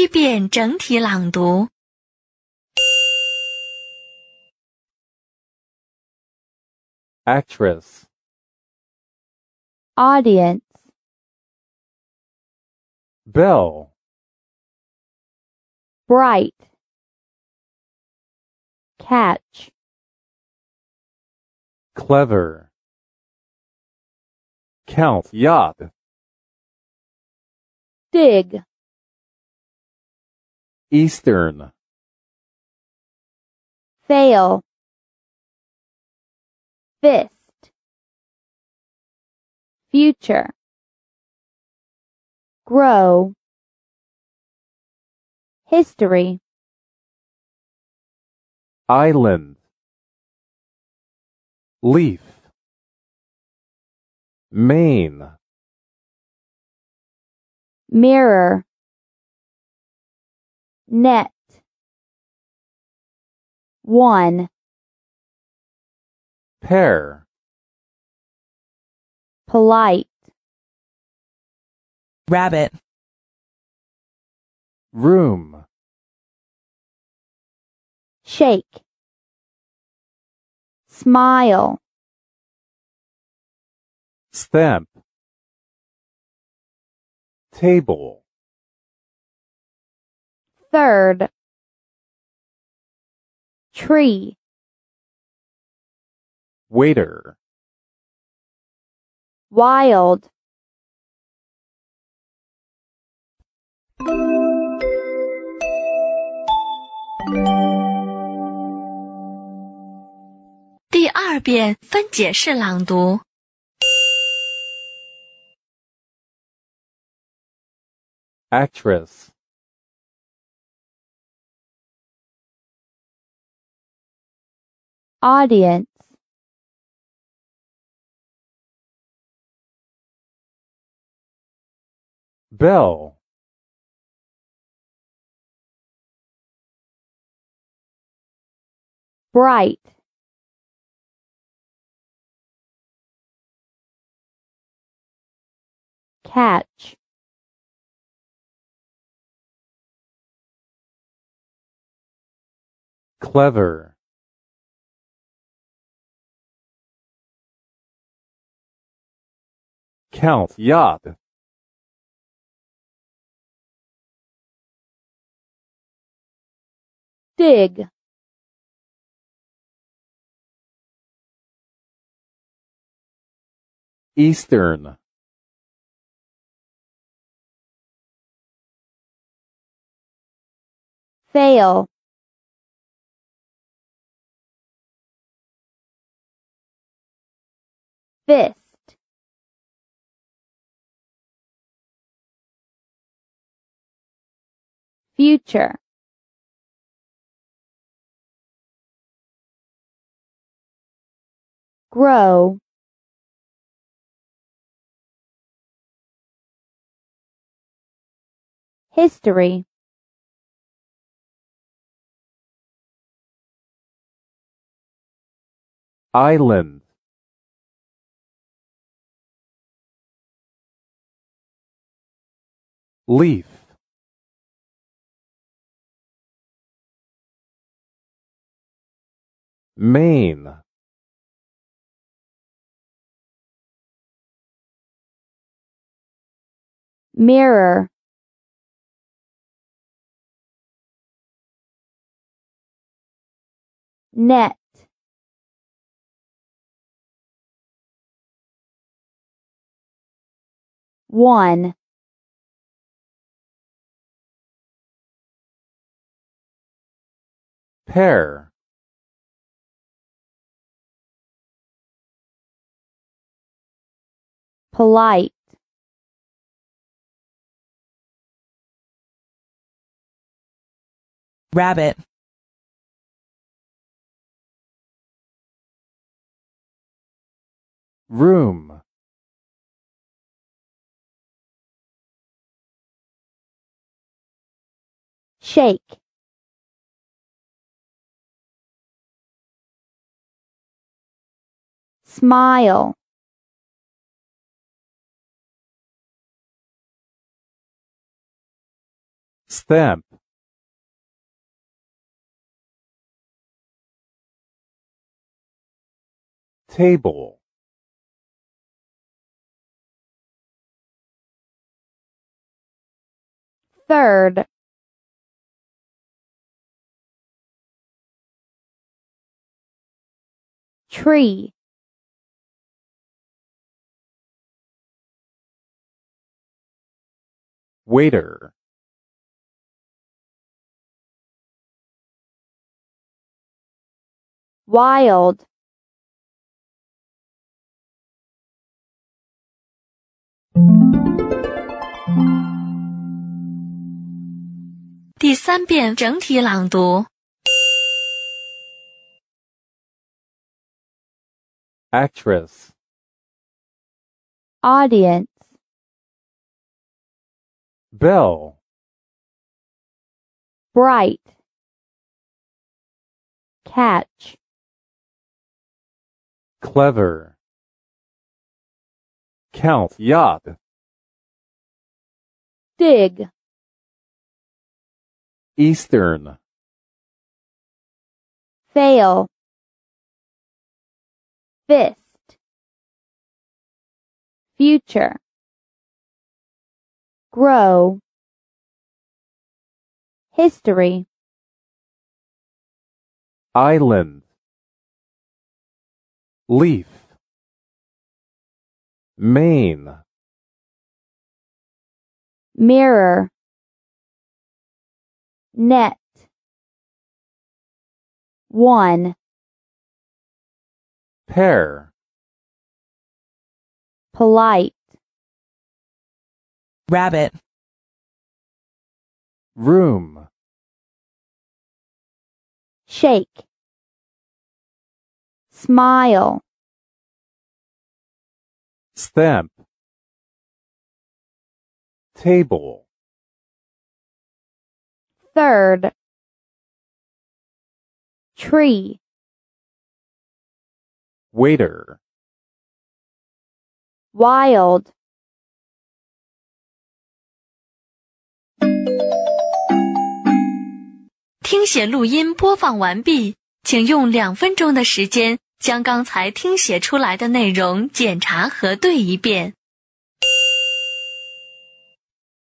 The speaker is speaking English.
一遍整体朗读。 Actress. Audience. Bell. Bright. Catch. Clever. Count. Yacht. Dig. Eastern. Fail. Fist. Future. Grow. History. Island. Leaf. Main. Mirror. Net. One. Pair. Polite. Rabbit. Room. Shake. Smile. Stamp. Table. Third. Tree. Waiter. Wild. 第二遍分解式朗读。 Actress. Audience. Bell. Bright. Catch. Clever. Count. Yacht. Dig. Eastern. Fail. Fist. Future. Grow. History. Island. Leaf. Main. Mirror. Net. One. Pair. Polite. Rabbit. Room. Shake. Smile. Stamp. Table. Third. Tree. Waiter. Wild. 第3遍整体朗读。 Actress. Audience. Bell. Bright. Catch. Clever. Count. Yacht. Dig. Eastern. Fail. Fist. Future. Grow. History. Island. Leaf. Main. Mirror. Net. One. Pair. Polite. Rabbit. Room. Shake. Smile. Stamp. Table. Third. Tree. Waiter. Wild. 听写录音播放完毕，请用2分钟的时间将刚才听写出来的内容检查核对一遍。